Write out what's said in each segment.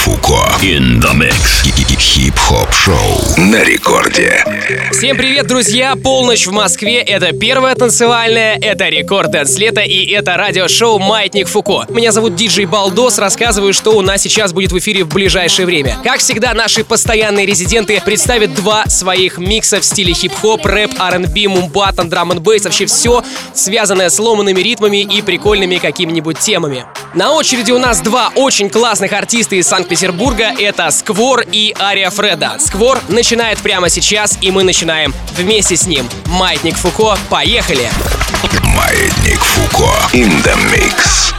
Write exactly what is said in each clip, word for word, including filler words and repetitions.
Фуко in the mix. Хип-хоп шоу на рекорде. Всем привет, друзья! Полночь в Москве. Это первая танцевальная, это Рекорд Дэнс Лето и это радиошоу «Маятник Фуко». Меня зовут Диджей Балдос, рассказываю, что у нас сейчас будет в эфире в ближайшее время. Как всегда, наши постоянные резиденты представят два своих микса в стиле хип-хоп, рэп, ар энд би, мумбатон, драм энд бейс, вообще все связанное с ломаными ритмами и прикольными какими-нибудь темами. На очереди у нас два очень классных артиста из Санкт-Петербурга. Это Сквор и Ария Фреда. Сквор начинает прямо сейчас, и мы начинаем вместе с ним. Маятник Фуко, поехали! Маятник Фуко in the mix.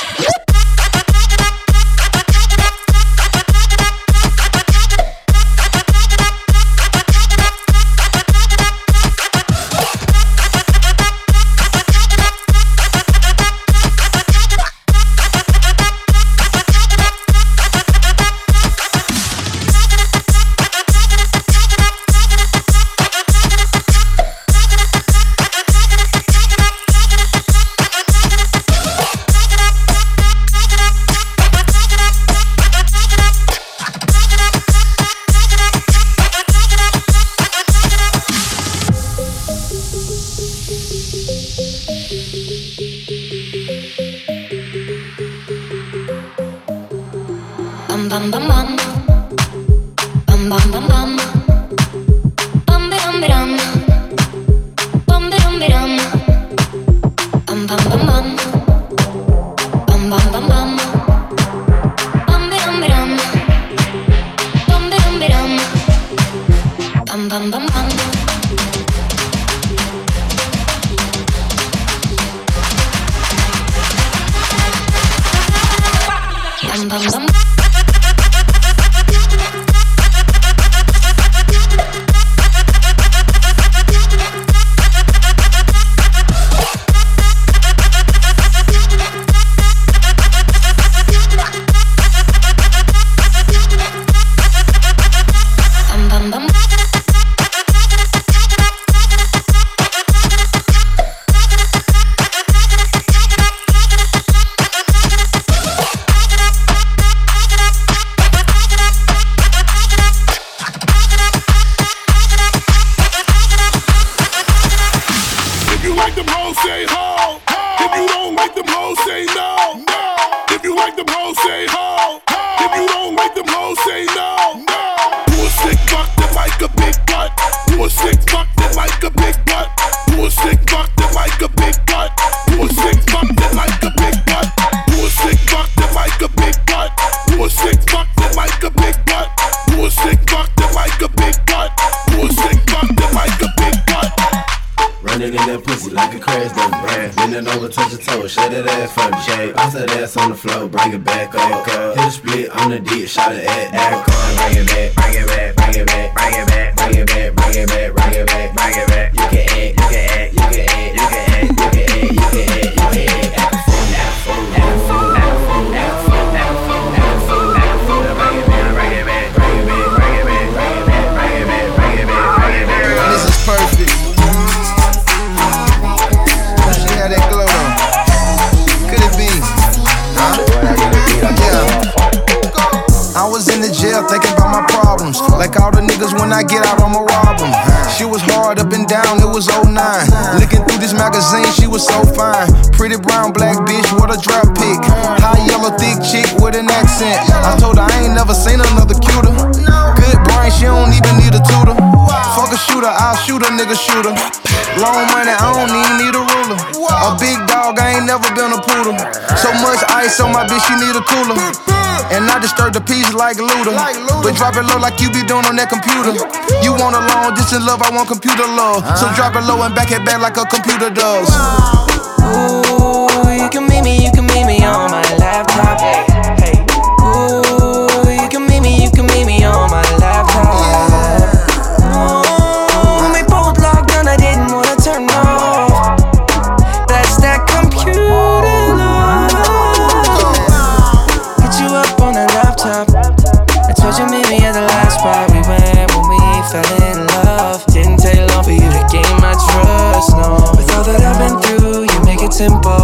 Bum bum bum, bum bum bum bum, bum bum bum, bum bum bum, bum bum bum, bum bum bum bum, bum bum bum, bum bum bum, bum bum bum bum. Bum bum bum. On the floor, bring it back up. Hit a split on the dick, shot it at that car. Bring it back, bring it back, bring it back, bring it back, bring it back, bring it back, bring it back, bring it back. You can act, you can act, you can act, you can act, you can act, you can act, you can act. Act a fool, act a fool, act a fool, act a fool, act a fool, act a fool, act a fool, act a fool. Bring it back, bring it back, bring it back, bring it back, bring it back, bring it back, bring it back, bring it back. This is perfect. She had that glow though. Could it be? I was in the jail thinking about my problems. Like all the niggas when I get out I'ma rob them. She was hard up and down, it was oh nine. Looking through this magazine, she was so fine. Pretty brown black bitch, what a drop pick. High yellow thick chick with an accent. I told her I ain't never seen another cuter. Good brain, she don't even need a tutor. Fuck a shooter, I'll shoot a nigga shooter. Long money, I don't even need a ruler. A big dog, I ain't never been a poodle. So much ice on my bitch, she need a cooler. And I disturb the peace like Luda. But drop it low like you be doing on that computer. You want a long distance love, I want computer love. So drop it low and back it back like a computer does. Ooh, you can meet me, you can meet me on my laptop. Hey, ooh, you can meet me, you can meet me on my laptop. Ooh, we both logged on, I didn't wanna turn off. That's that computer love. Hit you up on the laptop. I told you meet me at the last spot we went when we fell in love. Didn't take long for you to gain my trust, no. With all that I've been through, you make it simple.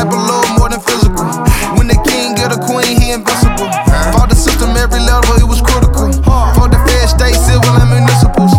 type of love more than physical. When the king get a queen, he invincible. Fought the system every level, it was critical. For the Fed, state, civil, and municipals.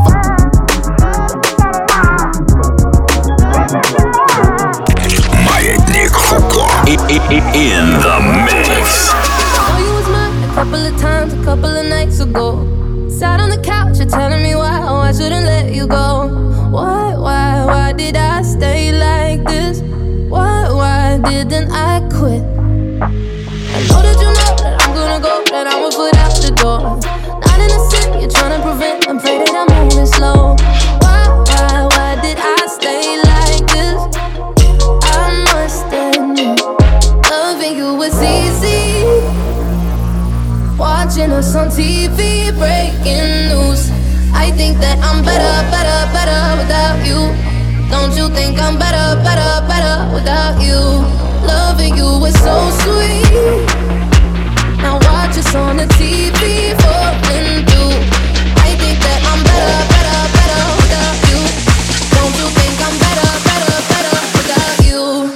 Маятник Фуко. In the mix. I know you was mine a couple of times, a couple of nights ago. Sat on the couch, you're telling me why, oh, I shouldn't let you go. Why, why, why did I stay like this? Why, why didn't I quit? I know that you know that I'm gonna go, that I'm a foot out the door. Not in a sin, you're trying to prevent, I'm afraid that I'm moving slow. Why, why, why did I stay like this? I must admit, loving you was easy. Watching us on T V, breaking news. I think that I'm better, better, better without you. Don't you think I'm better, better, better without you? Loving you is so sweet. Now watch us on the T V, falling through. I think that I'm better, better, better without you. Don't you think I'm better, better, better without you?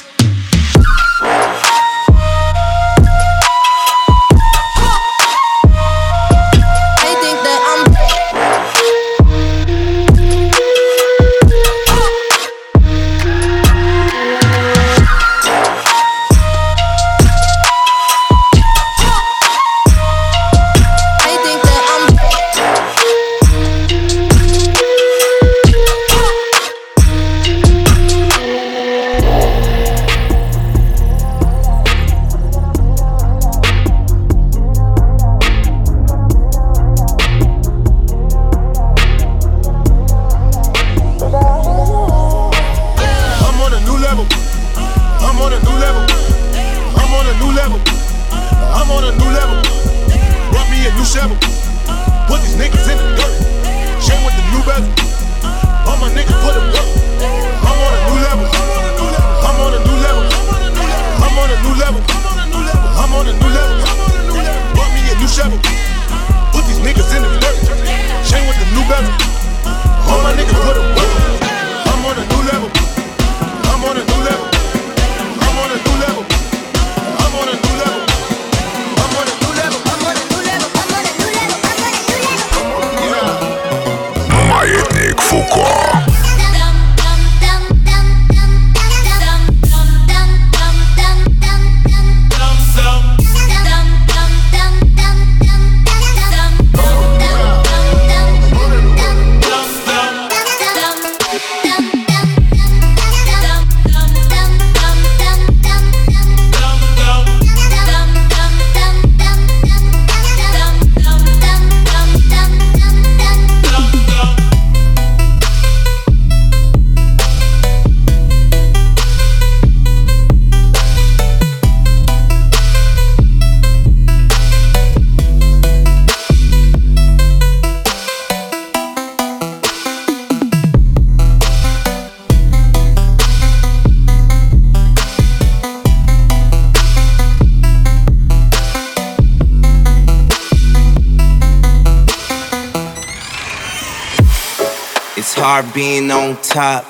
Hard being on top.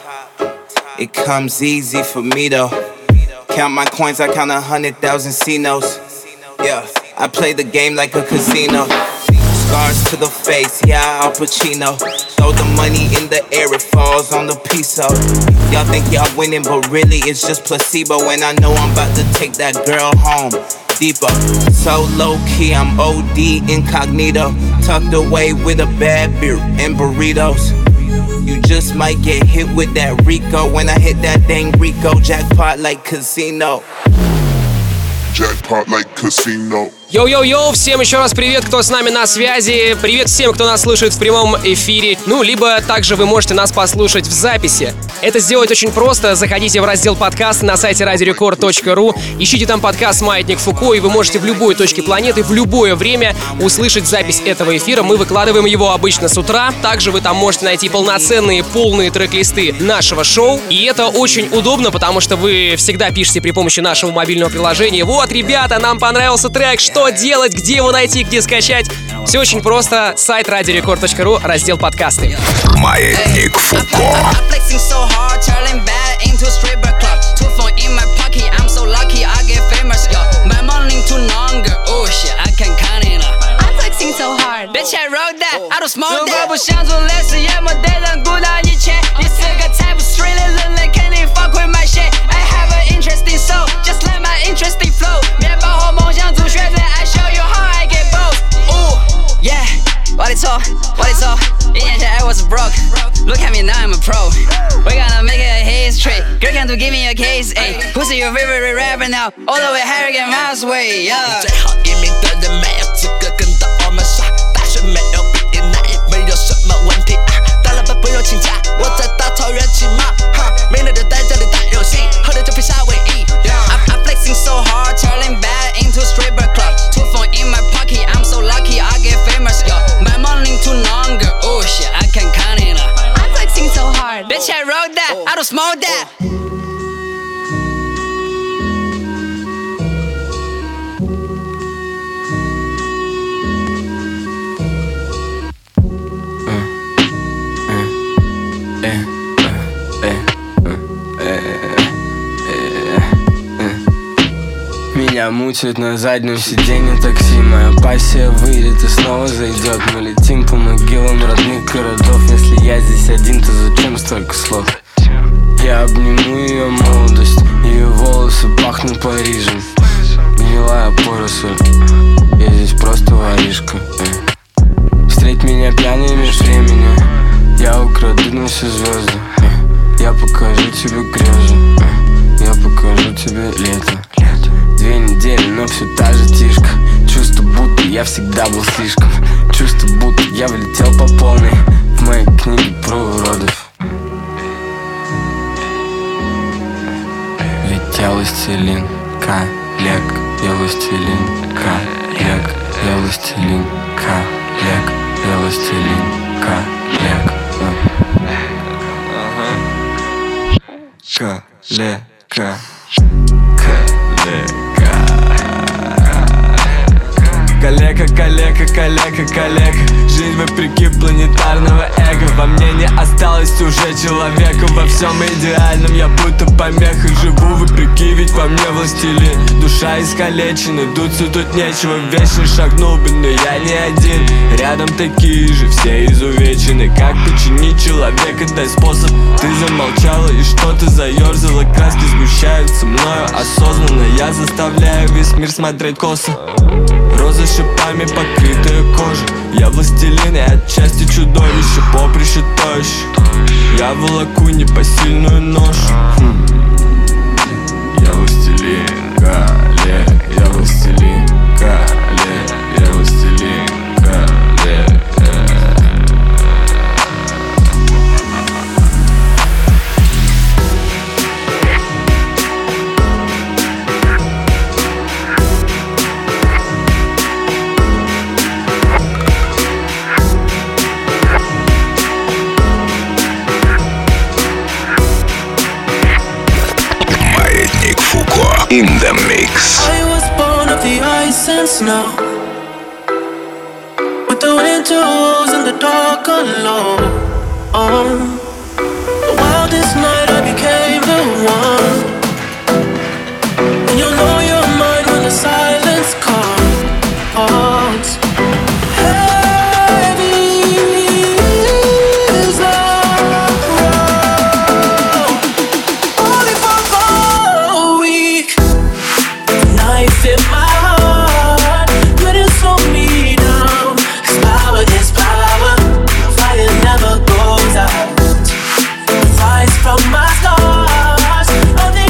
It comes easy for me though. Count my coins, I count a hundred thousand C-notes. Yeah, I play the game like a casino. Scars to the face, yeah, Al Pacino. Throw the money in the air, it falls on the piso. Y'all think y'all winning, but really it's just placebo. And I know I'm about to take that girl home. Deeper, so low key, I'm O D incognito. Tucked away with a bad beer and burritos. You just might get hit with that Rico. When I hit that dang Rico, jackpot like casino. Jackpot like casino. Йоу-йоу-йоу, всем еще раз привет, кто с нами на связи. Привет всем, кто нас слушает в прямом эфире. Ну, либо также вы можете нас послушать в записи. Это сделать очень просто. Заходите в раздел подкаст на сайте радио рекорд точка ру. Ищите там подкаст «Маятник Фуко», и вы можете в любой точке планеты, в любое время услышать запись этого эфира. Мы выкладываем его обычно с утра. Также вы там можете найти полноценные, полные трек-листы нашего шоу. И это очень удобно, потому что вы всегда пишете при помощи нашего мобильного приложения: «Вот, ребята, нам понравился трек, что Что делать, где его найти, где скачать?» Все очень просто. Сайт радио рекорд точка ру, раздел подкасты. Маятник Фуко. roll that, I don't smoke that。如果不想做类似夜幕对人鼓捣一切，你是个财富 street 的人类肯定放会买鞋。I have an interesting soul, just like my interesting flow。面包和梦想做选择 ，I show you how I get both。Ooh, yeah， 我的错，我的错，一年前I was broke。Look at me now, I'm a pro. We're gonna make it a history. Girl, can you give me a case? Ay, who's your favorite rapper now? All the way Harry and Miles way, yeah. 最后一名的人没有资格跟着我们耍，大学没有毕业，那也没有什么问题啊。大老板不用请假，我在大草原骑马，哈，没了就在这里打游戏，喝的就披夏威夷。I'm, I'm flexing so hard, turning bad into stripper club. Two phone in my pocket, I'm so lucky I get famous, yo. My morning too long, girl, oh shit, I can't count it up. I'm flexing so hard, bitch, I roll that, I don't smoke that. Меня мучают на заднем сиденье такси. Моя пассия выйдет и снова зайдет. Мы летим по могилам родных городов. Если я здесь один, то зачем столько слов? Я обниму ее молодость. Ее волосы пахнут Парижем. Гнилая поросль. Я здесь просто воришка. Встреть меня пьяный меж времени. Я украду на все звезды. Я покажу тебе грезы. Я покажу тебе лето. Две недели, но все та же тишка. Чувство, будто я всегда был слишком. Чувство, будто я влетел по полной в моей книге про уродов. Ведь я властелин коллег. Я властелин коллег. Я властелин коллег. Я властелин коллег. Коллега. Коллега, коллега, коллега, коллега. Жизнь вопреки планетарного эго. Во мне не осталось уже человека. Во всем идеальном я будто помеха. Живу вопреки, ведь во мне властелин. Душа искалечена, дуться тут нечего. Вечно шагнул бы, но я не один. Рядом такие же, все изувечены. Как починить человека, дай способ. Ты замолчала и что-то заерзала. Краски сгущаются мною осознанно. Я заставляю весь мир смотреть косо. Розы шипами покрытая кожа. Я властелин и отчасти чудовище. Поприще тощ. Я волоку непосильную ношу. хм. Я властелин коллег. Я властелин коллег. Я властелин коллег. In the mix. I was born of the ice and snow, with the windows and the dark alone. Oh, the wildest night I became the one. And you'll know you're mine when the silence calls. Heavy is the road, only for a week. Knife in my heart, couldn't slow me down. 'Cause power is power, fire never goes out. Rise from my stars, only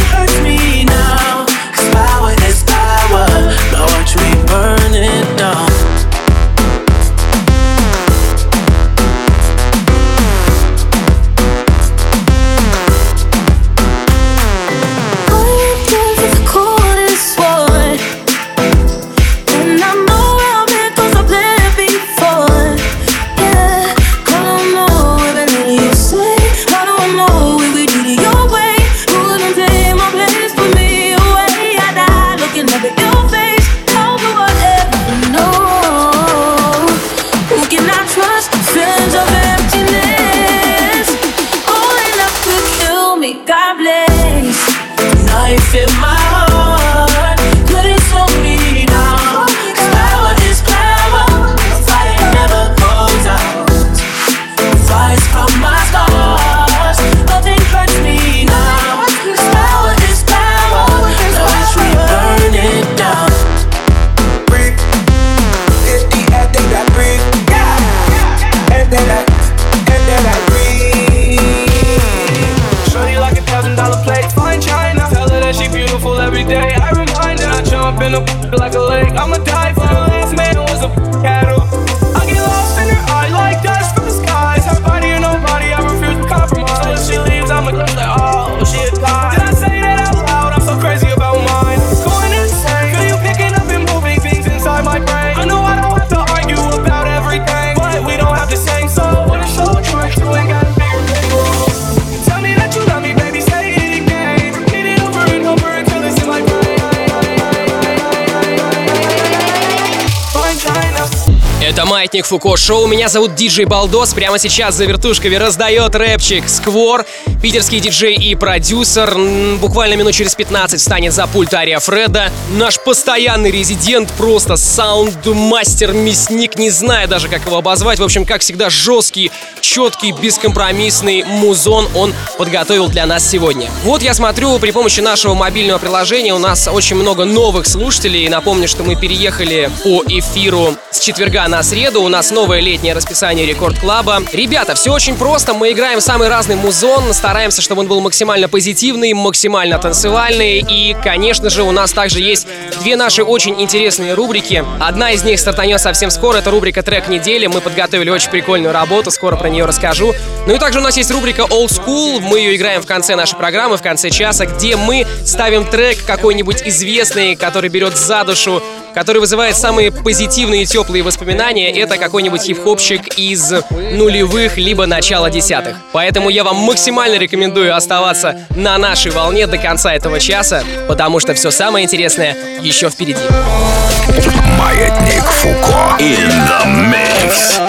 up in a like a lake. I'ma die for the last man who was a cattle. I get lost in her eye like dust from the skies. Her body or nobody, I refuse to compromise. Till she leaves, I'ma just like, oh, she a die. Did I say that out loud? I'm so crazy about mine. Going insane. Feel you picking up and moving things inside my brain. I know I don't have to argue about everything, but we don't have the same soul. What a show we're trying to ain't got a bigger thing. Tell me that you love me, baby, say it again. Repeat it over and over until it's in my brain. Fine China. Это Маятник Фуко Шоу. Меня зовут Диджей Балдос. Прямо сейчас за вертушками раздает рэпчик Сквор. Питерский диджей и продюсер. Буквально минут через пятнадцать встанет за пульт Ария Фреда. Наш постоянный резидент, просто саунд-мастер, мясник, не знаю даже, как его обозвать. В общем, как всегда, жесткий, четкий, бескомпромиссный музон он подготовил для нас сегодня. Вот я смотрю, при помощи нашего мобильного приложения у нас очень много новых слушателей. Напомню, что мы переехали по эфиру с четверга на среду. У нас новое летнее расписание Рекорд Клаба. Ребята, все очень просто. Мы играем самый разный музон. Стараемся, чтобы он был максимально позитивный, максимально танцевальный. И, конечно же, у нас также есть две наши очень интересные рубрики. Одна из них стартанет совсем скоро. Это рубрика «Трек недели». Мы подготовили очень прикольную работу. Скоро про нее расскажу. Ну и также у нас есть рубрика Old School. Мы ее играем в конце нашей программы, в конце часа, где мы ставим трек какой-нибудь известный, который берет за душу, который вызывает самые позитивные и теплые воспоминания. Это какой-нибудь хип-хопчик из нулевых либо начала десятых. Поэтому я вам максимально рекомендую оставаться на нашей волне до конца этого часа, потому что все самое интересное еще впереди. Маятник Фуко in the mix.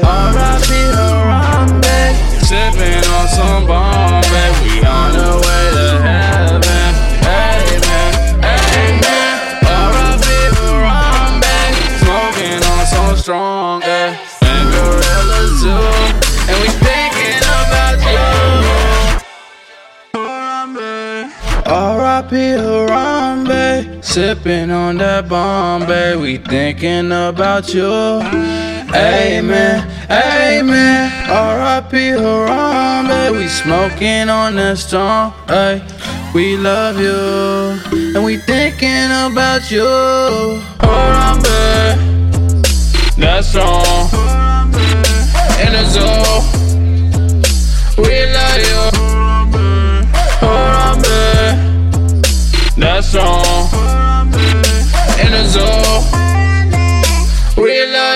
Strong, yeah. And gorillas too. And we thinking about you. R I P Harambe, sipping on that Bombay. We thinking about you. Amen, amen. R I P Harambe, we smoking on that strong. Ay, we love you, and we thinking about you. Harambe. That's strong. In the zone, we love you. Harambe. That's strong. In the zone, we love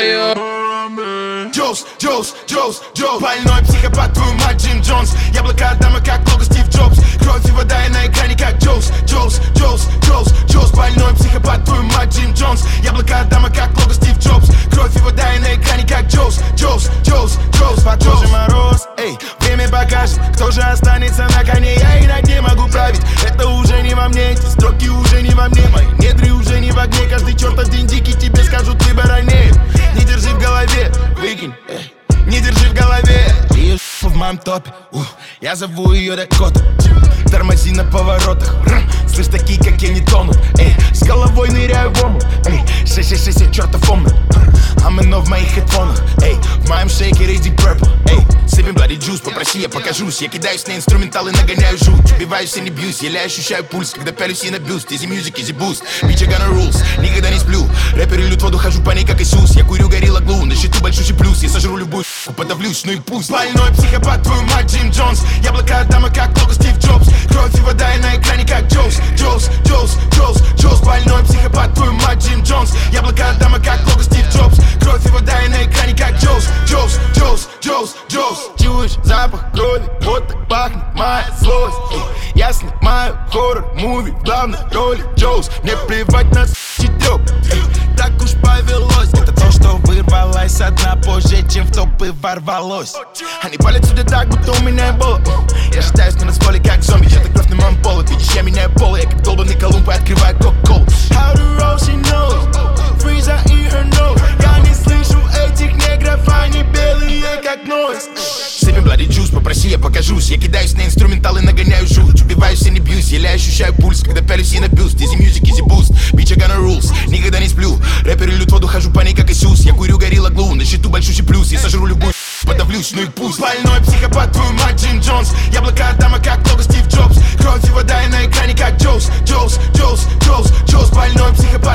you. Джоус, Джоус, Джоус, Джоус. Больной психопат, твою мать, Джим Джонс. Яблоко Адама, как лого Стив Джобс. Кровь и вода, и на экране, как Джоус, Джоус, Джоус, Джоус, Джоус. Больной психопат, твою мать, Джим Джонс. Яблоко Адама, как лого Стив Джобс. Кровь и вода, и на экране, как Джоус, Джоус, Джоус, Джоус. Под кожей мороз, эй, время покажет, кто же останется на коне. Я и на дне могу править, это уже не во мне. Эти строки уже не во мне, мои недри уже не в огне. Каждый чертов день дикий тебе скажут, ты баронеет. Не держи в голове, выкинь, эй. Не держи в голове. Ее в моем топе, ух, я зову ее Дакота. Тормози на поворотах, слышь, такие, как я, не тонут. Эй, с головой ныряю в омут. Эй, шесть шесть шесть, я чертов омут. Амино в моих хедфонах. Эй, в моем шейкере Deep Purple. Эй, сыпем bloody juice, попроси, я покажусь. Я кидаюсь на инструменталы, нагоняю жуть. Убиваюсь и не бьюсь, еле ощущаю пульс, когда пялюсь и на бюст. Easy music, easy boost, bitch, I gonna rules. Никогда не сплю, рэперы льют воду, хожу по ней, как Иисус. Я курю горилла глу, на счету большущий плюс. Я сожру любую подавлюсь, ну и пусть. Больной психопат, твою мать, Джим Джонс. Яблоко Адама, как лого Стив Джобс. Кровь и вода, и на экране, как Джоус, Джоус, Джоус, Джоус, Джоус. Больной психопат, твою мать, Джим Джонс. Яблоко Адама, как лого Стив Джобс. Кровь и вода, и на экране, как Джоус, Джоус, Джоус, Джоус, Джоус. Чуешь запах крови, вот так пахнет моя злость. Эй, я снимаю хоррор-муви в главной роли Джоус. Мне плевать на с***тёк, так уж повелось. Это то, что вырвалось со дна позже, чем в топы ворвалось. Они палят сюда так, будто у меня было. Я считаюсь на нацполе, как зомби. Я так кровь на моем поле. Видишь, я меняю полы. Я как долбанный Колумб и открываю кока-колу. How the roll she knows, Freeza in her nose. Я не слышу этих негров, они белые, как нойз. Сыпем bloody juice, попроси, я покажусь. Я кидаюсь на инструменталы, нагоняю жуть. Убиваюсь и не бьюсь, еле ощущаю пульс, когда пялюсь и на бюст. Easy music, easy boost, bitch, I gonna rules. Никогда не сплю, рэперы льют воду, хожу по ней, как Иисус. Я курю горилла глу, на счету большущий плюс. Я сожру любую подавлюсь, ну и пусть. Больной психопат, твою мать, Джим Джонс. Яблоко Адама, как лого Стив Джобс. Кровь и вода, и на экране, как Джоус, Джоус, Джоус, Джоус, Джоус. Больной психопат.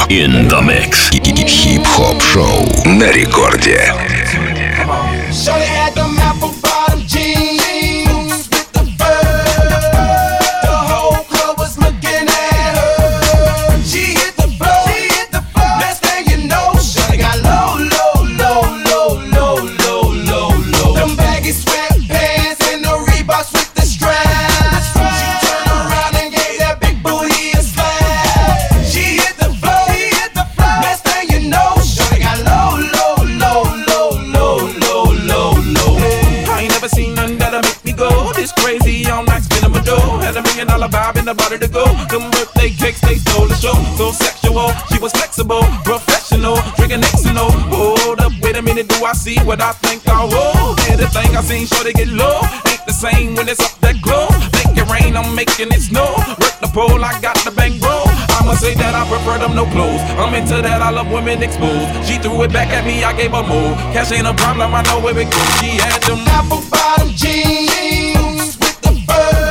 In the mix. Хип-хоп шоу на рекорде. Shorty had them apple bottom jeans with the fur. The whole club was looking at her. She hit the floor, she hit the floor. Best thing you know, shorty got low, low, low, low, low, low, low, low. Them baggy sweatpants and the Reeboks with the straps. She turned around and gave that big booty a slap. She hit the floor, she hit the floor. Best thing you know, shorty got low, low, low, low, low, low, low, low. I ain't never seen nothing that'll make me go this crazy all night spinning my dough. Had a million dollar vibe in the body to go. Them birthday cakes, they stole the show. So sexual, she was flexible, professional, drinking X and O. Hold up, wait a minute, do I see what I think I will? Yeah, the thing I seen, sure to get low. Ain't the same when it's up that glow. Make it rain, I'm making it snow. Work the pole, I got the bang bro. I'ma say that I prefer them no clothes. I'm into that, I love women exposed. She threw it back at me, I gave her more. Cash ain't a problem, I know where it goes. She had them apple bottom jeans with the fur.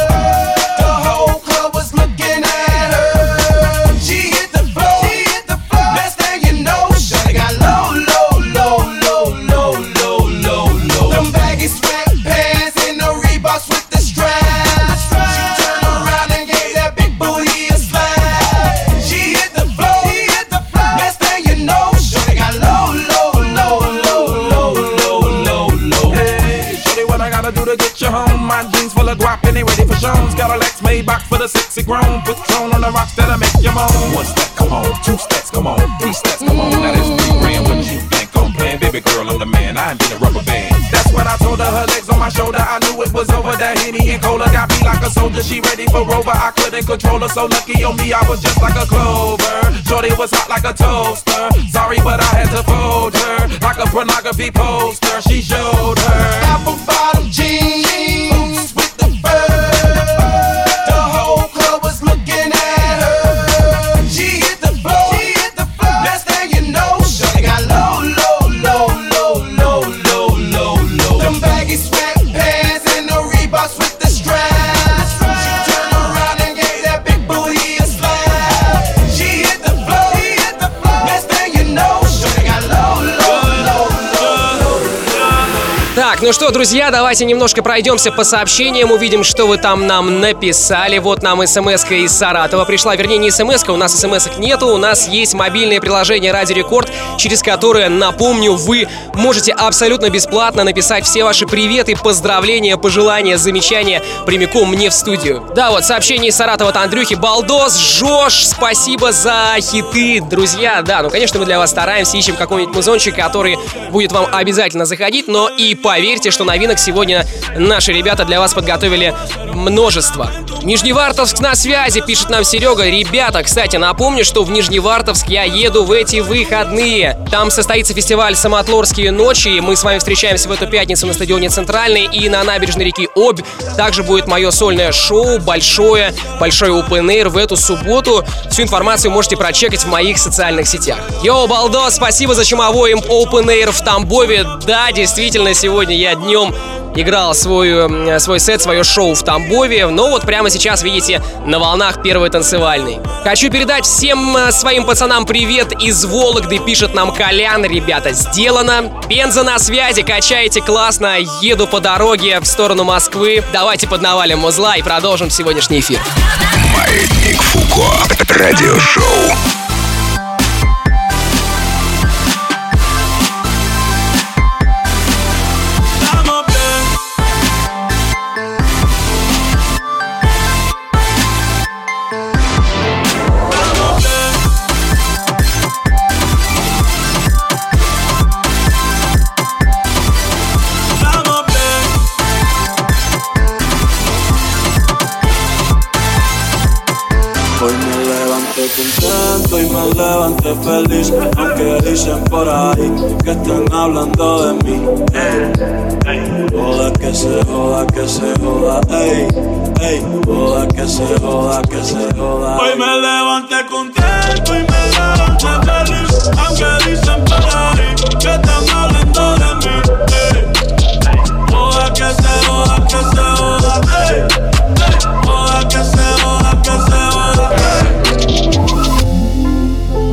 The whole club was looking at her. She hit the floor, she hit the floor. Best thing you know, shorty got low, low, low, low, low, low, low, low. Them baggy sweatpants and the Reeboks with the straps. She turned around and gave that big booty a slap. She hit the floor, she hit the floor. Best thing you know, shorty got low, low, low, low, low, low, low, low. Hey, shorty, what I gotta do to get you home? My jeans full of guap and they ready for shows. Got a Lex Maybach for the sexy grown. Patron on the rocks that'll make you moan. One step, come on. Two steps, come on. Three steps, come on. Now that's three grand. What you think I'm playing? Baby girl, I'm the man. I ain't been a rubber band. That's what I told her. Her legs on my shoulder. I knew it was over. That Henny and Cola got me like a soldier. She ready for Rover. I couldn't control her. So lucky on me, I was just like a clover. Shorty was hot like a toaster. Sorry, but I had to fold her like a pornography poster. She showed her apple bottom jeans with the fur. The whole club was looking at her. She hit the floor, she hit the floor. Best thing you know, shorty got low, low, low, low, low, low, low, low. Them baggy sweatpants and the Reeboks with the straps. She turned around and gave that big booty a slap. She hit the floor, she hit the floor. Best thing you know, shorty got low, low, low, low, low. Так, ну что, друзья, давайте немножко пройдемся по сообщениям, увидим, что вы там нам написали. Вот нам смс-ка из Саратова пришла, вернее, не смс-ка, у нас смс-ок нету, у нас есть мобильное приложение Радио Рекорд, через которое, напомню, вы можете абсолютно бесплатно написать все ваши приветы, поздравления, пожелания, замечания прямиком мне в студию. Да, вот сообщение из Саратова от Андрюхи. Балдос, Жош, спасибо за хиты, друзья. Да, ну, конечно, мы для вас стараемся, ищем какой-нибудь музончик, который будет вам обязательно заходить, но и поверьте, что новинок сегодня наши ребята для вас подготовили множество. Нижневартовск на связи, пишет нам Серега. Ребята, кстати, напомню, что в Нижневартовск я еду в эти выходные. Там состоится фестиваль «Самотлорские ночи». Мы с вами встречаемся в эту пятницу на стадионе «Центральный» и на набережной реки Обь. Также будет мое сольное шоу, большое, большой open air в эту субботу. Всю информацию можете прочекать в моих социальных сетях. Йоу, балдос, спасибо за чумовой open air в Тамбове. Да, действительно, сегодня я днем играл свой, свой сет, свое шоу в Тамбове. Но вот прямо сейчас, видите, на волнах первой танцевальной. Хочу передать всем своим пацанам привет из Вологды, пишет нам Колян. Ребята, сделано. Пенза на связи, качаете классно. Еду по дороге в сторону Москвы. Давайте поднавалим музла и продолжим сегодняшний эфир. Маятник Фуко. Радиошоу. Contento y me levanté feliz, aunque dicen por ahí que están hablando de mí. Ey, ey, joda que se joda, que se joda, ey, ey, joda que se joda, que se joda. Hoy me levanté contento y me levanté feliz, aunque dicen por ahí que están hablando de mí. Ey, joda que se joda, que se joda, ey, ey, joda que se joda, que se joda, ey.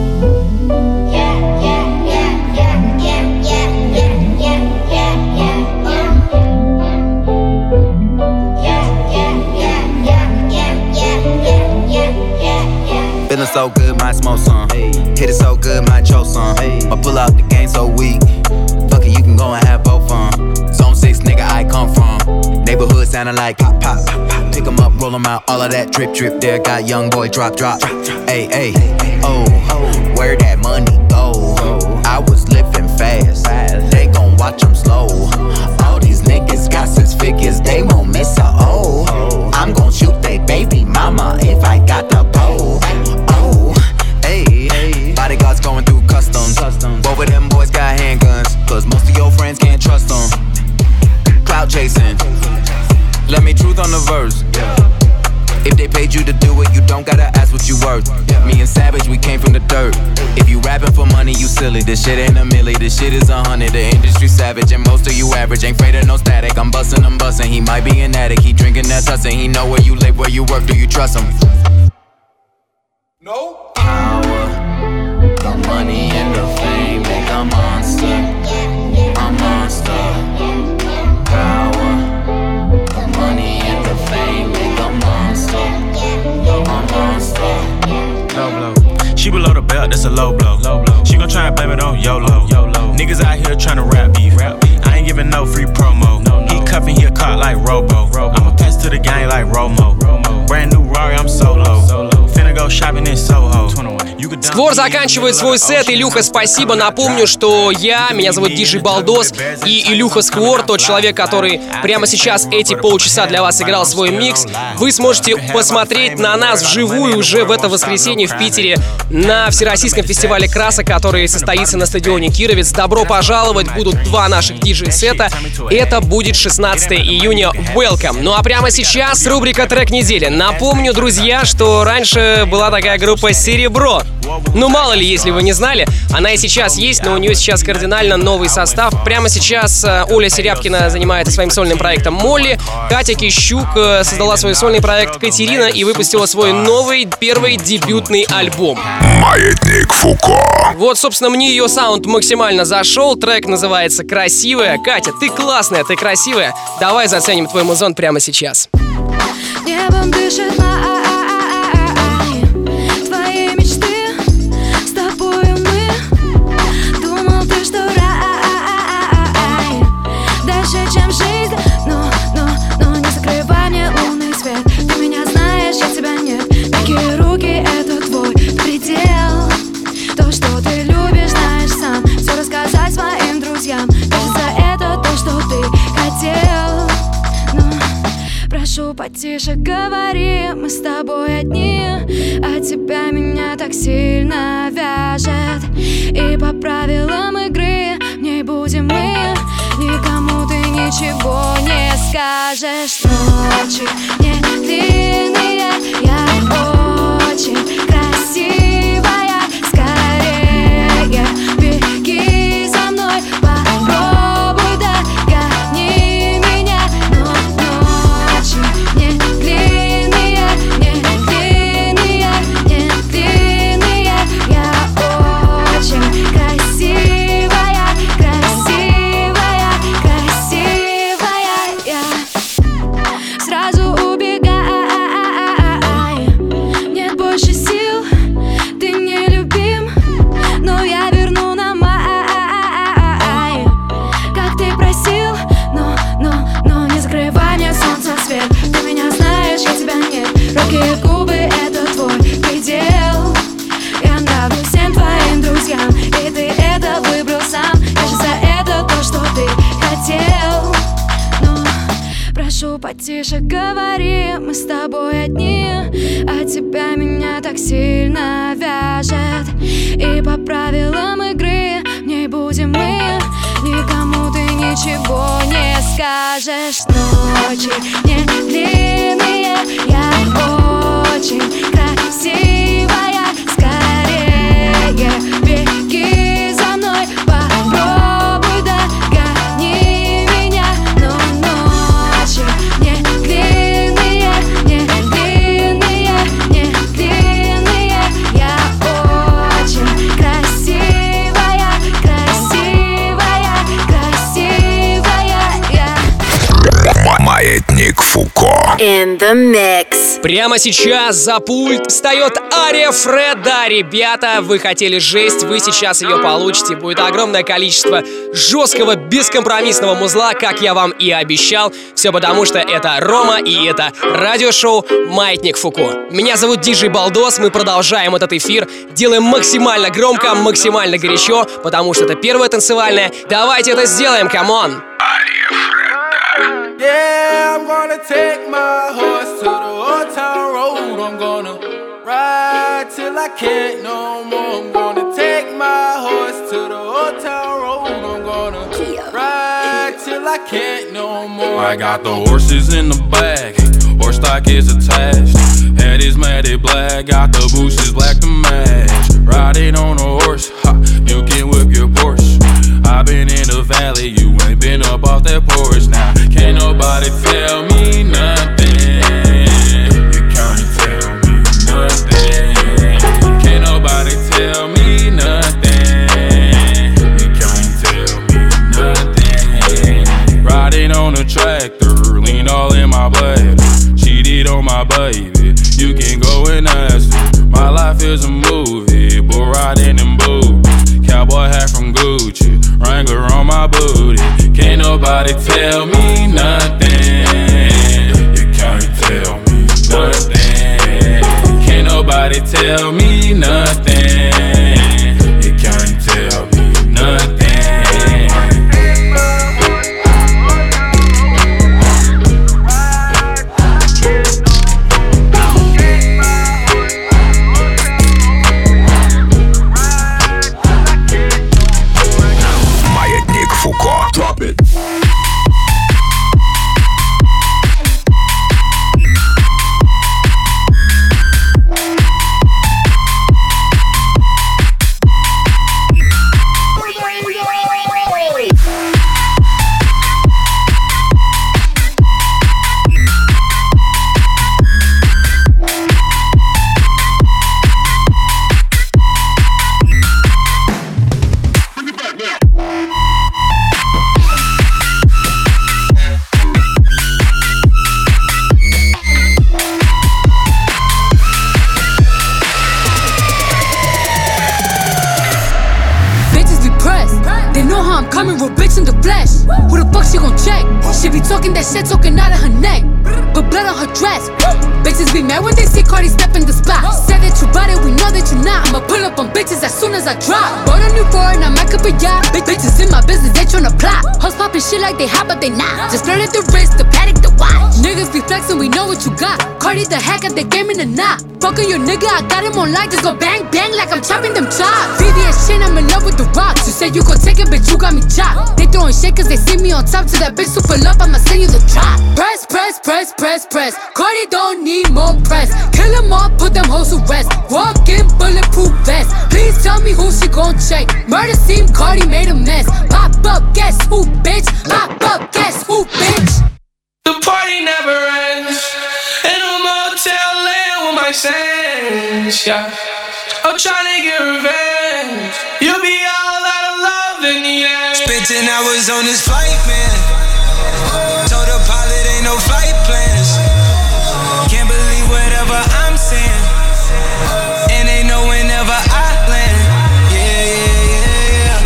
Feeling so good, might smoke some. Hit it so good, might choke some. I pull out the game so weak. Fuck it, you can go and have both fun. Zone six, nigga, I come from. Neighborhood sounding like pop, pop. Pick 'em up, roll 'em out, all of that drip, drip there. Got young boy drop, drop. Hey, hey, oh, where that money go? I was living fast, they gon' watch 'em slow. All these niggas got six figures, they won't miss a O. I'm gon' shoot they baby mama if I got the pole. Oh, hey, bodyguards going through customs. Both of them boys got handguns, cause most of your friends can't trust them. Cloud chasing, let me truth on the verse. If they paid you to do it, you don't gotta ask what you worth. Me and Savage, we came from the dirt. If you rapping for money, you silly. This shit ain't a milli, this shit is a hundred. The industry savage, and most of you average. Ain't afraid of no static, I'm bustin', I'm bustin'. He might be an addict, he drinking that tussin'. He know where you live, where you work, do you trust him? No. Power, the money and the fame make a monster. A monster. Power, the money and the fame make a monster. A monster. Low blow. She below the belt, that's a low blow. Low blow. She gon' try and blame it on YOLO. YOLO. Niggas out here tryna rap beef. Rap beef. I ain't giving no free promo. No, no. He cuffin', he a caught like Robo. Robo. I'ma pass to the gang like Romo. Romo. Brand new Rari, I'm solo. Solo. Finna go shopping in Soho. Сквор заканчивает свой сет. Илюха, спасибо. Напомню, что я, меня зовут Диджей Балдос, и Илюха Сквор, тот человек, который прямо сейчас эти полчаса для вас играл свой микс. Вы сможете посмотреть на нас вживую уже в это воскресенье в Питере на Всероссийском фестивале красок, который состоится на стадионе Кировец. Добро пожаловать, будут два наших диджей-сета. Это будет шестнадцатого июня. Welcome. Ну а прямо сейчас рубрика «Трек недели». Напомню, друзья, что раньше была такая группа «Серебро». Ну, мало ли, если вы не знали, она и сейчас есть, но у нее сейчас кардинально новый состав. Прямо сейчас Оля Серябкина занимается своим сольным проектом «Молли», Катя Кищук создала свой сольный проект «Катерина» и выпустила свой новый, первый дебютный альбом. Маятник Фуко. Вот, собственно, мне ее саунд максимально зашел. Трек называется «Красивая». Катя, ты классная, ты красивая. Давай заценим твой музон прямо сейчас. Небом дышит май, твои мечты, с тобою мы. Думал ты, что рай дальше, чем жизнь, но, но, но не закрывай мне лунный свет. Ты меня знаешь, я тебя нет. Такие руки, это твой предел. То, что ты любишь, знаешь сам. Все рассказать своим друзьям. Кажется, это то, что ты хотел. Прошу, потише говори, мы с тобой одни, а тебя меня так сильно вяжет. И по правилам игры в ней будем мы. Никому ты ничего не скажешь. Ночи не длинные, я очень красивая. Скорее беги за мной, попробуй догони меня. Но ночи не длинные, не длинные, не длинные. Я очень красивая, красивая, красивая. Я сразу убегай, нет больше сил, ты не любим, но я верну на май, как ты просил. Но, но, но не закрывай мне солнце свет. Ты меня знаешь, я тебя нет. Руки и губы, это твой предел. Я нравлюсь всем твоим друзьям, и ты это выбрал сам. Кажется, это то, что ты хотел. Но прошу, потише говори, мы с тобой одни, а тебя меня так сильно вяжет. И по правилам игры в ней будем мы. Никому ты ничего не скажешь. Ночи не длинные, я очень красивая. Скорее беги за мной, попробуй догони меня. Но ночи не длинные, не длинные, не длинные. Я очень красивая, красивая, красивая. Я Маятник Фуко. In the mix. Прямо сейчас за пульт встает Ария Фреда. Ребята, вы хотели жесть, вы сейчас ее получите. Будет огромное количество жесткого, бескомпромиссного музла, как я вам и обещал. Все потому, что это Рома и это радиошоу «Маятник Фуко». Меня зовут Диджей Балдос, мы продолжаем этот эфир. Делаем максимально громко, максимально горячо, потому что это первое танцевальное. Давайте это сделаем, камон! Yeah, I'm gonna take my horse to the old town road. I'm gonna ride till I can't no more. I'm gonna take my horse to the old town road. I'm gonna ride till I can't no more. I got the horses in the back, horse stock is attached. Head is matted black, got the bushes black to match. Riding on a horse, ha, you can whip your Porsche. I've been in the valley, you ain't been up off that porch. Now, can't nobody tell me nothing. You can't tell me nothing. Can't nobody tell me nothing. You can't tell me nothing. Riding on a tractor, lean all in my blood. Cheated on my baby, you can go and ask her. My life is a movie, bull riding in boots. Cowboy hat from Gucci, Wrangler on my booty. Can't nobody tell me nothing. You can't tell me nothing. Can't nobody tell me nothing. You can't tell me nothing. Drop it. That shit talking out of her neck, but blood on her dress. Bitches be mad when they see Cardi step in the spot. Said that you bought it, we know that you not. I'ma pull up on bitches as soon as I drop. Bought a new foreign, I might up a yacht. Big bitches in my business, they tryna plot. Hoes poppin' shit like they hot, but they not. Just flirted the wrist, the paddock, the watch. Niggas be flexin', we know what you got. Cardi the hack at the game in the knot. Fuckin' your nigga, I got him on light. Just go bang bang like I'm chopping them chops. V V S chain, I'm in love with the rocks. You said you gon' take it, bitch, you got me chopped. They throwin' shit cause they see me on top. To that bitch super love, I'ma send you the drop. Press, press, press, press, press. Cardi don't need more press. Kill them all, put them hoes to rest. Walk in bulletproof vest. Please tell me who she gon' check. Murder scene, Cardi made a mess. Pop up, guess who, bitch? Pop up, guess who, bitch? The party never ends. In a motel land with my sense, yeah. I'm tryna get revenge. You'll be all out of love in the end. Spent ten hours on this flight, man. Told the pilot ain't no flight plans. Can't believe whatever I'm saying. And they know whenever I land. Yeah, yeah, yeah,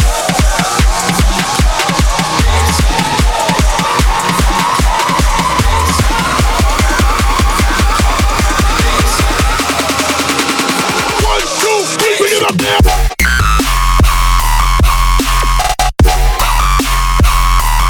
One, two, three, bring it up there.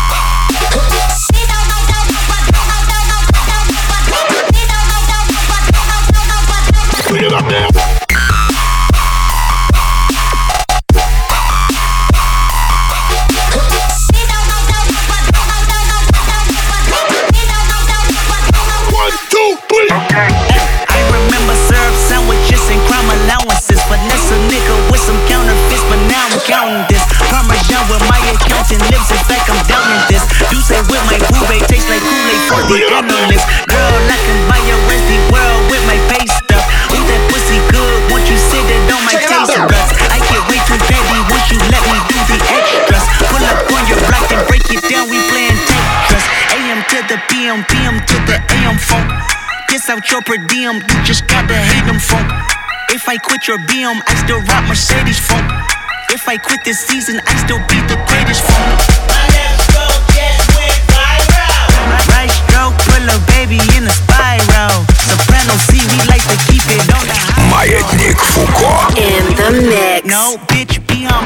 let the P M P M to the A M phone. Piss out your per diem, you just gotta hate them phone. If I quit your B M, I still rock Mercedes phone. If I quit this season, I still be the greatest phone. My left stroke just went viral. Right stroke put a baby in a spiral. Soprano C, we like to keep it on the high. Маятник Фуко. In the mix. No, bitch, be on.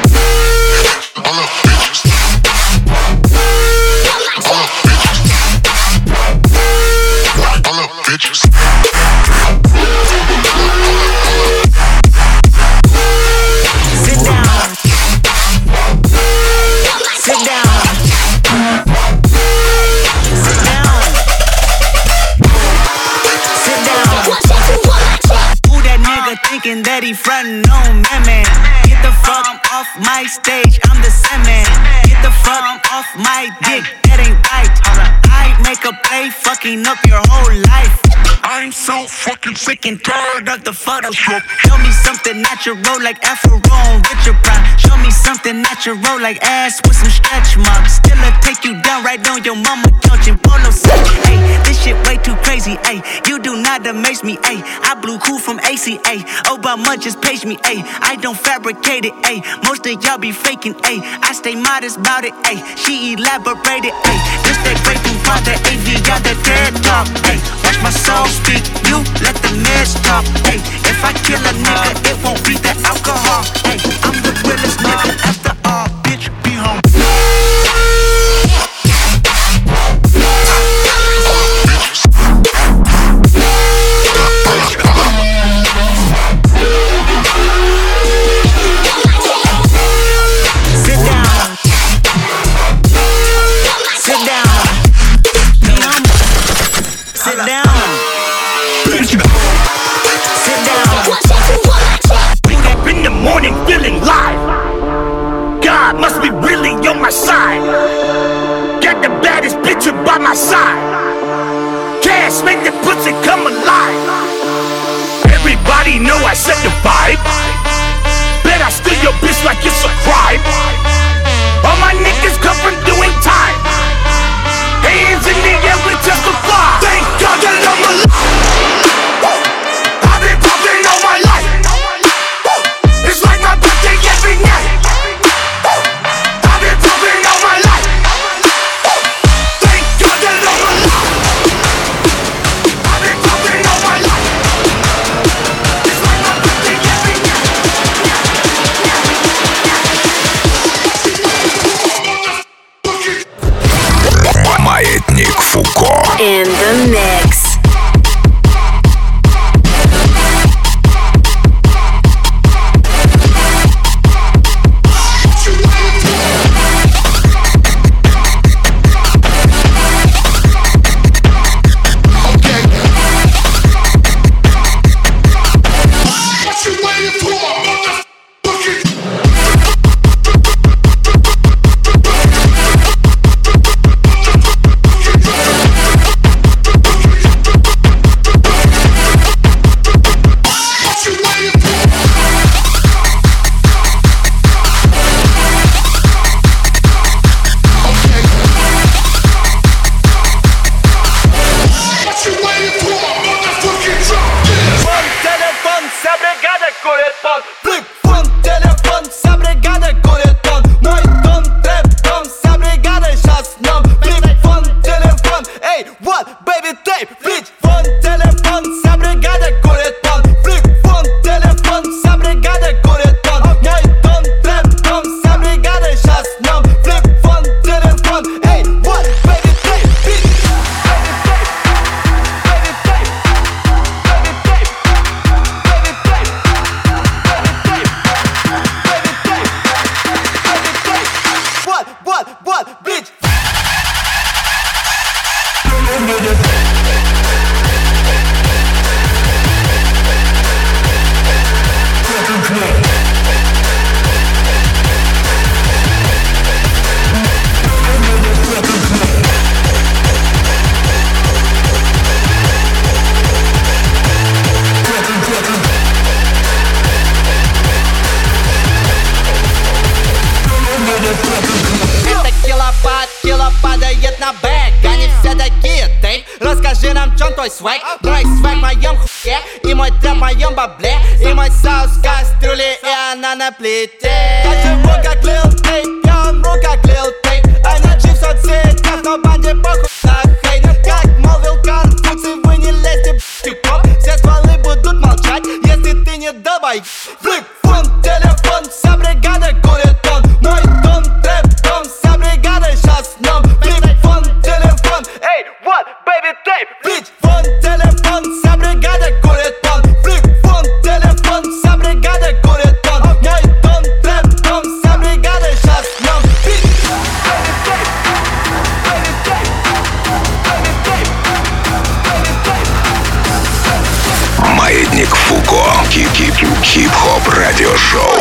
Bitches. Sit down. Sit down. Sit down. Sit down. Who that nigga thinking that he frontin' on me, man? Get the fuck off my stage, I'm the Sandman. Get the fuck off my dick, that ain't right. I make a play, fucking up your whole life. I'm so fucking sick and tired of the Photoshop. Show me something natural like Afro on Richard Pryor. Show me something natural like ass with some stretch marks. Still a take you down right on your mama couch in polo set. Hey, this shit way too crazy. Hey, you do not amaze me. Hey, I blew cool from A C A. Obama just page me. Hey, I don't fabricate it. Hey, most of y'all be faking. Hey, I stay modest about it. Hey, she elaborated. Hey, this that great thing called the A V, got the TED talk. Hey, watch my soul speak. You let the meds talk. Hey, if I kill a nigga, it won't be the alcohol. Hey, I'm the realest nigga after all. Bitch, be home. Sit down. Sit down. Sit down. Sit down. Wake up in the morning feeling live. God must be really on my side. Got the baddest bitch by my side. Cash make the pussy come alive. Everybody know I set the vibe. Bet I steal your bitch like it's a crime. All my niggas come from doing time. Hands in the air, we testify. Thank God that I'm alive. I've been popping all my life. It's like my birthday every night. I've been popping all my life. Thank God that I'm alive. I've been popping all my life. It's like my birthday every night. Маятник Фуко. In the mix. Это килопад, кило падает на бэк. Они все такие мой свайк, мой свайк в моем хуе, и мой трап в моем бабле, и мой соус в кастрюле, и она на плите. Я живу как Lil Peep, я умру как Lil Peep, ай на джи в соцсетях, но банде похуй на хейт. Как молвил Конфуций, вы не лезьте в тик-топ, все стволы будут молчать, если ты не долбай. Флик, фон, телефон, вся бригада курит он, мой дом, трэп-дом, вся бригада сейчас в нем. Флик, фон, телефон, эй, what, baby, tape. Флик, фон, телефон, вся бригада курит он, флик, фон, телефон, вся бригада курит он, мой дом, трэп-дом, вся бригада сейчас в нем. Флик, baby, tape, baby, tape, baby, tape, baby, tape. Маятник Фуко. Хип-хип-хип-хоп радиошоу.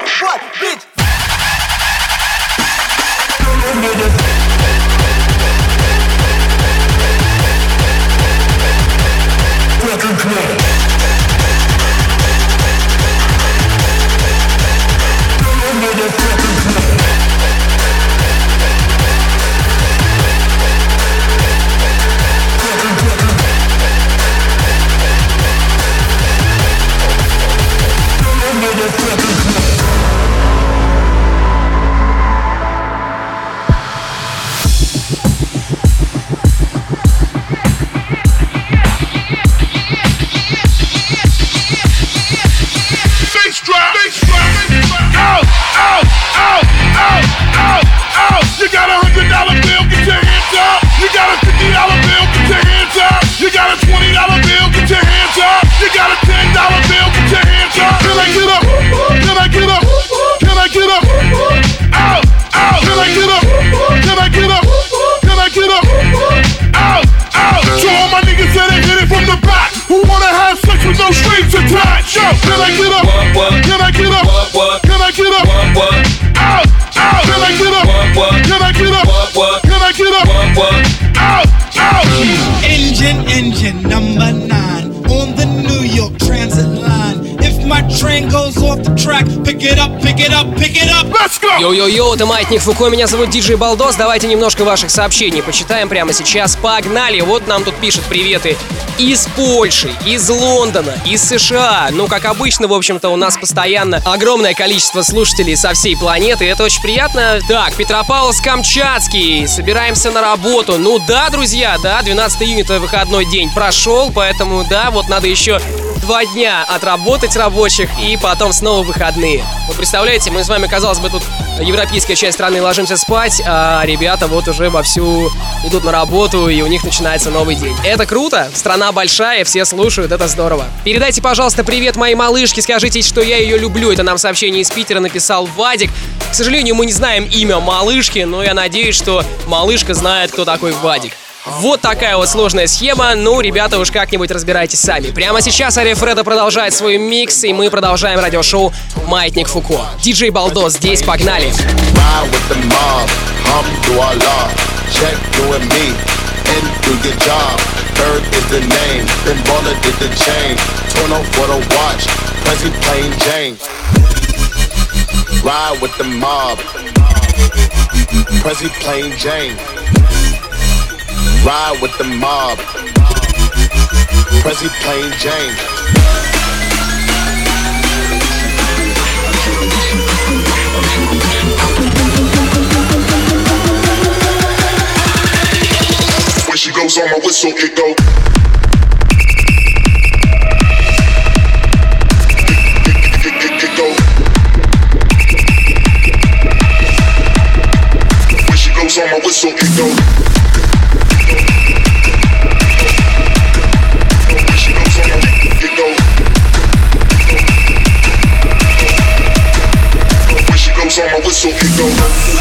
Engine, engine number nine on the New York Transit line. If my train goes off the track, pick it up, pick it up, pick it up. Let's go! Йо-йо-йо, это Маятник Фуко, меня зовут Диджей Балдос. Давайте немножко ваших сообщений почитаем прямо сейчас. Погнали! Вот нам тут пишут приветы из Польши, из Лондона, из США. Ну, как обычно, в общем-то, у нас постоянно огромное количество слушателей со всей планеты. Это очень приятно. Так, Петропавловск-Камчатский. Собираемся на работу. Ну да, друзья, да, двенадцатого июня это выходной день прошел, поэтому, да, вот надо еще два дня отработать рабочих и потом снова выходные. Вы представляете, мы с вами, казалось бы, тут европейская часть страны ложимся спать, а ребята вот уже вовсю идут на работу, и у них начинается новый день. Это круто, страна большая, все слушают, это здорово. Передайте, пожалуйста, привет моей малышке, скажите, что я ее люблю. Это нам сообщение из Питера написал Вадик. К сожалению, мы не знаем имя малышки, но я надеюсь, что малышка знает, кто такой Вадик. Вот такая вот сложная схема, ну, ребята, уж как-нибудь разбирайтесь сами. Прямо сейчас Ария Фредо продолжает свой микс, и мы продолжаем радиошоу «Маятник Фуко». Диджей Балдос здесь, погнали! Ride with the mob, Prezi plain Jane. Ride with the mob, Prezi plain Jane. When she goes on my whistle, it go. On my whistle, it go. When she goes on my it go. When she goes on my whistle, it go.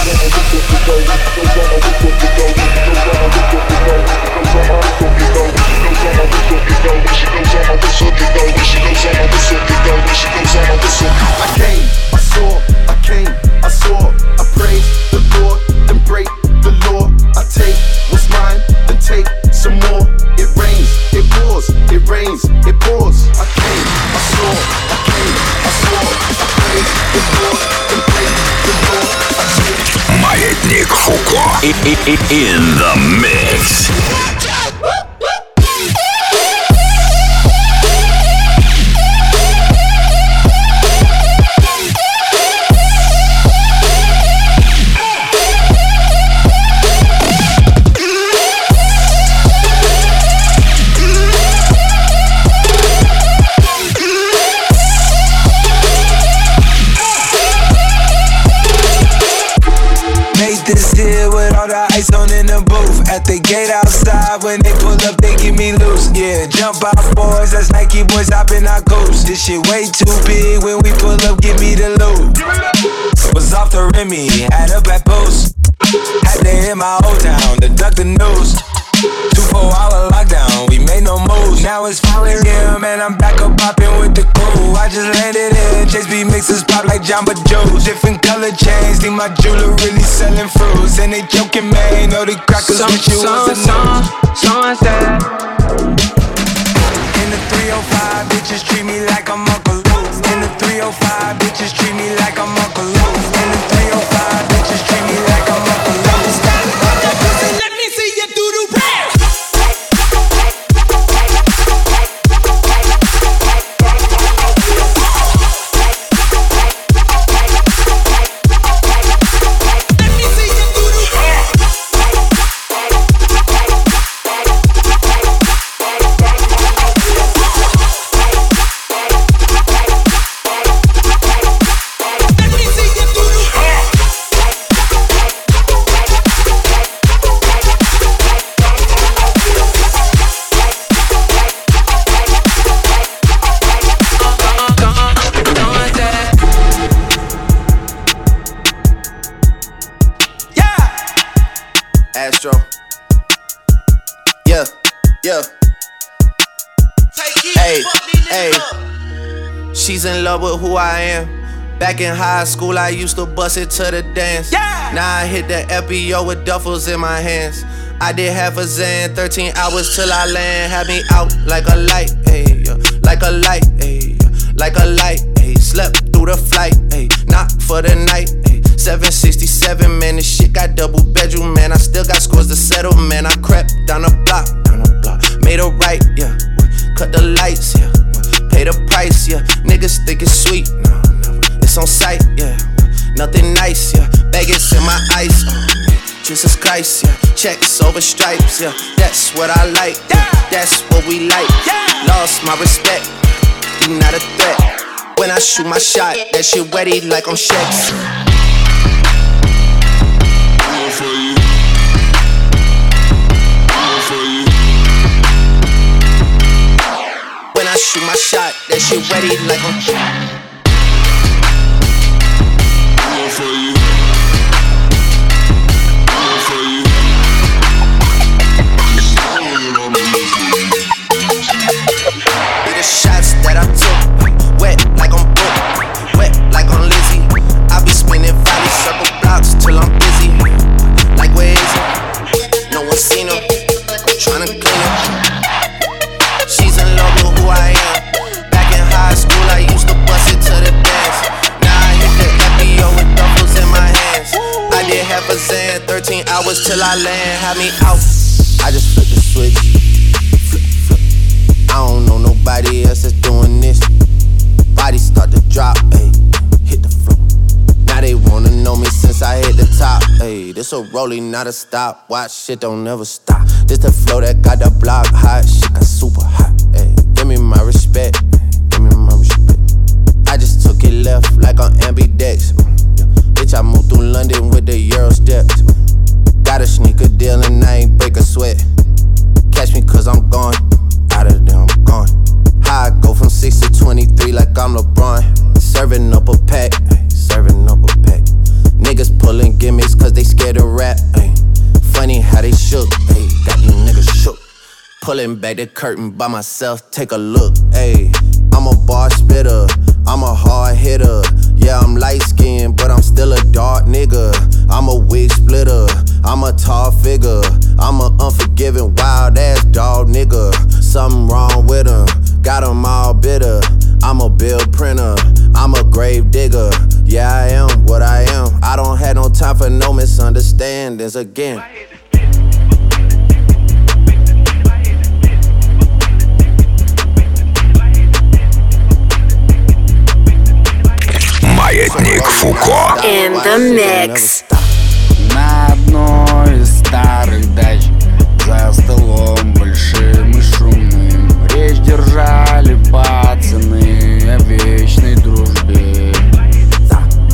I came, I saw, I came, I saw, I praise the Lord, then break the law. I take what's mine, then take some more. It rains, it pours, it rains, it pours. I came, I saw, I came, I saw, I praise the Lord, then break the law. I take. Маятник Фуко in the mix. at the gate outside. When they pull up, they give me loose. Yeah, jump out, boys. That's Nike boys hopping our coast. This shit way too big. When we pull up, give me the loot. Was off the Remy, had up at post. Had to hit my old town to duck the news. Two four hour lockdown, we made no moves. Now it's five a.m. and I'm back up popping with the crew. I just landed in, Chase B mixes pop like Jamba Joe's. Different color chains, think my jeweler really selling fruits. And they joking, man, know the crackers with you was a news. Sunset. In the three oh five, bitches treat me like I'm Uncle Luke. In the three oh five, bitches treat me like I'm Uncle Luke. In the three oh five, bitches treat me like I'm Uncle Luke. Let me see you do the rap. Astro. Yeah, yeah. Hey, hey. She's in love with who I am. Back in high school, I used to bust it to the dance. Yeah. Now I hit the F B O with duffels in my hands. I did half a Zan, thirteen hours till I land. Had me out like a light, ayy, yeah. Like a light, ayy, yeah. Like a light, ayy. Slept through the flight, ayy. Not for the night, ayy. seven sixty-seven, man, this shit got double bedroom, man. I still got scores to settle, man. I crept down the block, down the block. Made a right, yeah. Cut the lights, yeah. Pay the price, yeah. Niggas think it's sweet, no, never. It's on sight, yeah. Nothing nice, yeah. Vegas in my ice, oh, Jesus Christ, yeah. Checks over stripes, yeah. That's what I like, yeah. That's what we like, yeah. Lost my respect, you not a threat. When I shoot my shot, that shit wetty like on Shex. When I shoot my shot, that shit wetty like on Shex. The shots that I took, wet like I'm broke, wet like I'm Lizzie. I be spinning valley circle blocks till I'm busy. Like where is it? No one seen her. I'm tryna clean her. She's in love with who I am. Back in high school, I used to bust it to the dance. Now I hit the F B O with duffels in my hands. I did half a Zan, thirteen hours till I land. Had me out. I just flipped the switch. I don't know nobody else that's doing this. Bodies start to drop, ayy, hit the floor. Now they wanna know me since I hit the top, ayy. This a rolling, not a stop. Watch, shit don't never stop. This the flow that got the block hot. Shit got super hot, ayy. Give me my respect, give me my respect. I just took it left like on ambidex. Yeah. Bitch, I moved through London with the Euro steps. Got a sneaker deal and I ain't break a sweat. Catch me cause I'm gone. Out of there, I'm gone. How I go from six to twenty-three like I'm LeBron. Serving up a pack, ay, serving up a pack. Niggas pulling gimmicks cause they scared to rap, ay. Funny how they shook, ay, got you niggas shook. Pulling back the curtain by myself, take a look, ay. I'm a bar spitter, I'm a hard hitter. Yeah, I'm light skinned, but I'm still a dark nigga. I'm a wig splitter, I'm a tall figure. I'm a unforgiving, wild ass dog nigga. Something wrong with him, got him all bitter. I'm a bill printer, I'm a grave digger. Yeah, I am what I am. I don't have no time for no misunderstandings again. Маятник Фуко. In the mix. На одной из старых дач за столом большим и шумным речь держали пацаны о вечной дружбе.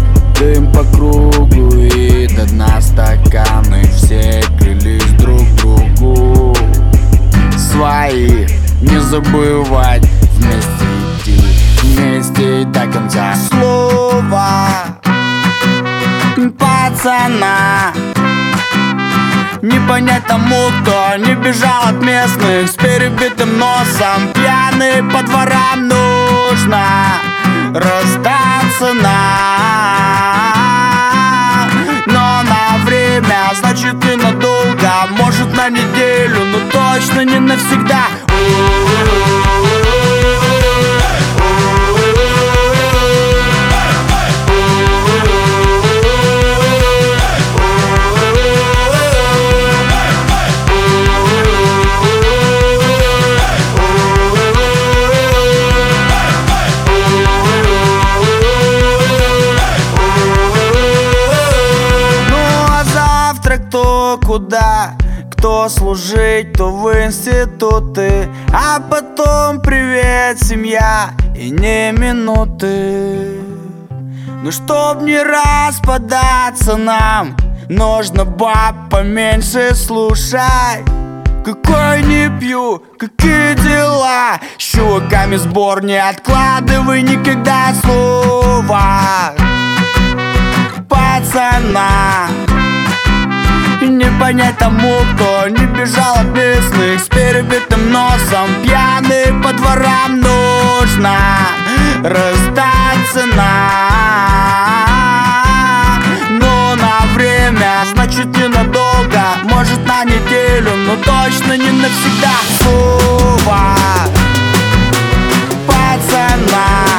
Дым по кругу и до дна стаканы, все клялись друг другу забывать, вместе идти, вместе и до конца. Слово пацана не понять тому, кто не бежал от местных с перебитым носом. Пьяный по дворам, нужно расстаться нам. Но на время, значит и надолго, может на неделю, но точно не навсегда. Куда? Кто служить, то в институты, а потом привет, семья, и не минуты. Ну чтоб не распадаться нам, нужно баб поменьше слушать. Какой не пью, какие дела, с чуваками сбор не откладывай никогда слова пацана. И не понять тому, кто не бежал от местных с перебитым носом. Пьяный по дворам, нужно расстаться нам. Но на время, значит ненадолго, может на неделю, но точно не навсегда. Слово пацана.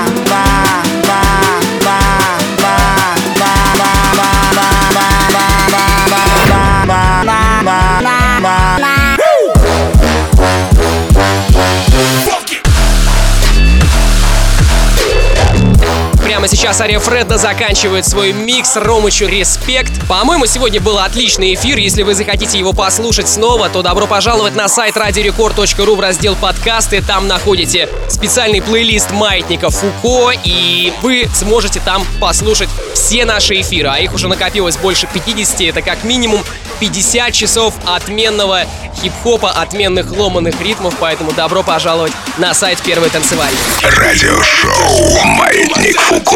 Прямо сейчас Ария Фредда заканчивает свой микс. Ромычу респект. По-моему, сегодня был отличный эфир. Если вы захотите его послушать снова, то добро пожаловать на сайт радио рекорд точка ру в раздел подкасты. Там находите специальный плейлист Маятника Фуко, и вы сможете там послушать все наши эфиры. А их уже накопилось больше пятидесяти. Это как минимум пятьдесят часов отменного хип-хопа, отменных ломаных ритмов. Поэтому добро пожаловать на сайт Первой танцевальной. Радиошоу «Маятник Фуко».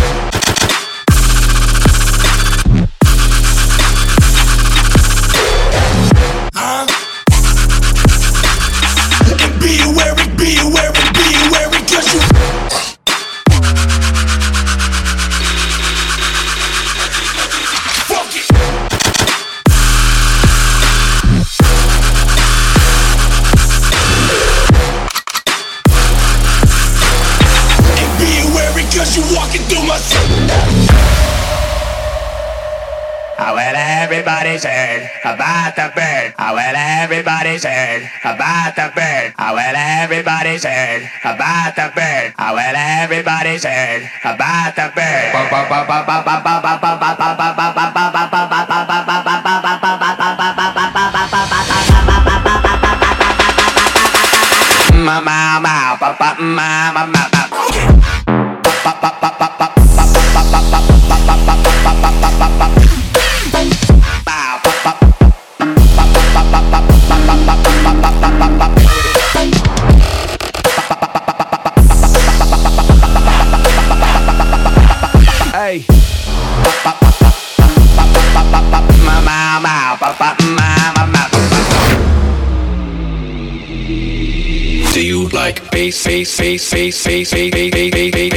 Everybody's heard about the bird. Oh, well, everybody's heard about the bird. Oh, well, everybody's heard about the bird. Oh, well, everybody's heard about the bird. Ma ma ma pa pa ma ma ma ma. Pa pa pa pa pa pa pa pa pa pa pa. Hey. Do you like bass, bass, bass, bass, bass, bass, bass, bass,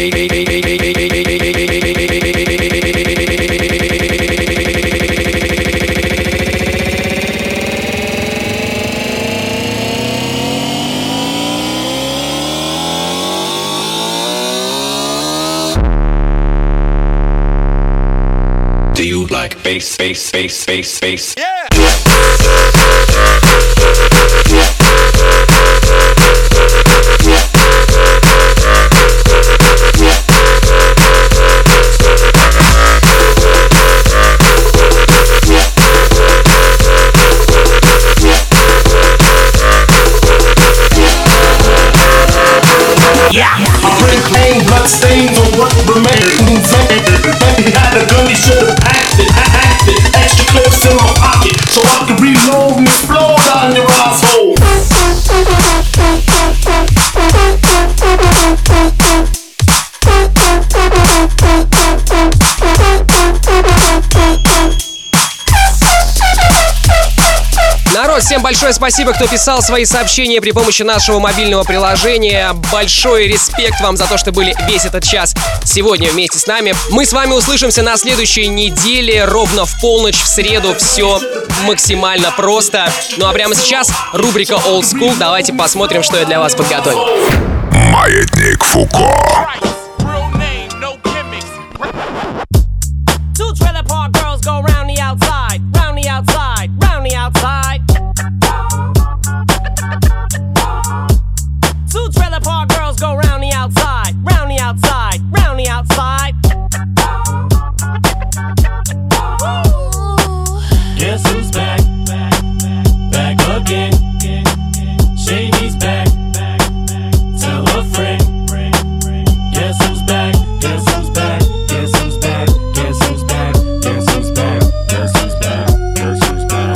Do you like bass, bass, bass, bass, bass? Yeah. Bloodstains on what remains. He had a gun, he should've acted, acted. Extra clips in my pocket. большое спасибо, кто писал свои сообщения при помощи нашего мобильного приложения. Большой респект вам за то, что были весь этот час сегодня вместе с нами. Мы с вами услышимся на следующей неделе, ровно в полночь в среду. Все максимально просто. Ну а прямо сейчас рубрика Old School. Давайте посмотрим, что я для вас подготовил. Маятник Фуко. Two trailer park girls go round the outside, round the outside, round the outside. Two trailer park girls go round the outside, round the outside, round the outside. Guess who's back? Back again. Shady's back. Tell a friend. Guess who's back? Guess who's back? Guess who's back? Guess who's back? Guess who's back? Guess who's back? Guess who's back?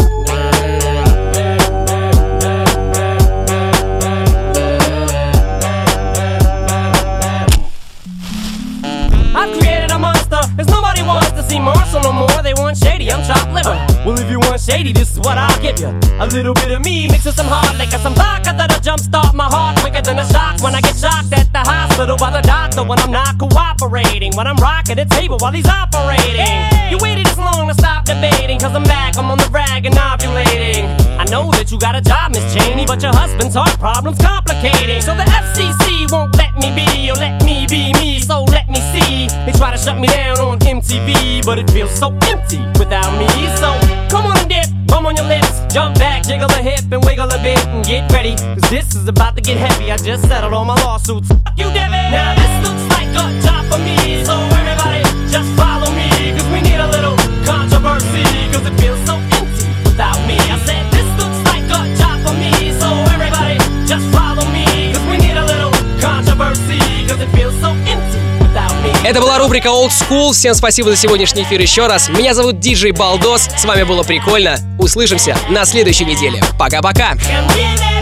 I've created a monster, cause nobody wants to see Marshall no more. They want Shady, I'm chopped liver. Well, if you want Shady, this is what I'll give you. A little bit of me mixed with some hard liquor, some vodka that'll jumpstart my heart quicker than a shock when I get shocked at the hospital by the doctor when I'm not cooperating. When I'm rocking the table while he's operating. Hey! You waited this long to stop debating, cause I'm back, I'm on the rag and ovulating. I know that you got a job, Miss Cheney, but your husband's heart problem's complicating. So the F C C won't let me be, or let me be me, so let me see. They try to shut me down on M T V, but it feels so empty without me. So come on and dip, bum on your lips, jump back, jiggle a hip and wiggle a bit and get ready, cause this is about to get heavy. I just settled all my lawsuits. Fuck you, Devin. Now this looks like a job for me, so everybody just follow me, cause we need a little controversy, cause it feels so empty without me. I said this looks like a job for me, so everybody just follow me, cause we need a little controversy, cause it feels so empty. Это была рубрика Old School. Всем спасибо за сегодняшний эфир еще раз. Меня зовут диджей Балдос. С вами было прикольно. Услышимся на следующей неделе. Пока-пока. And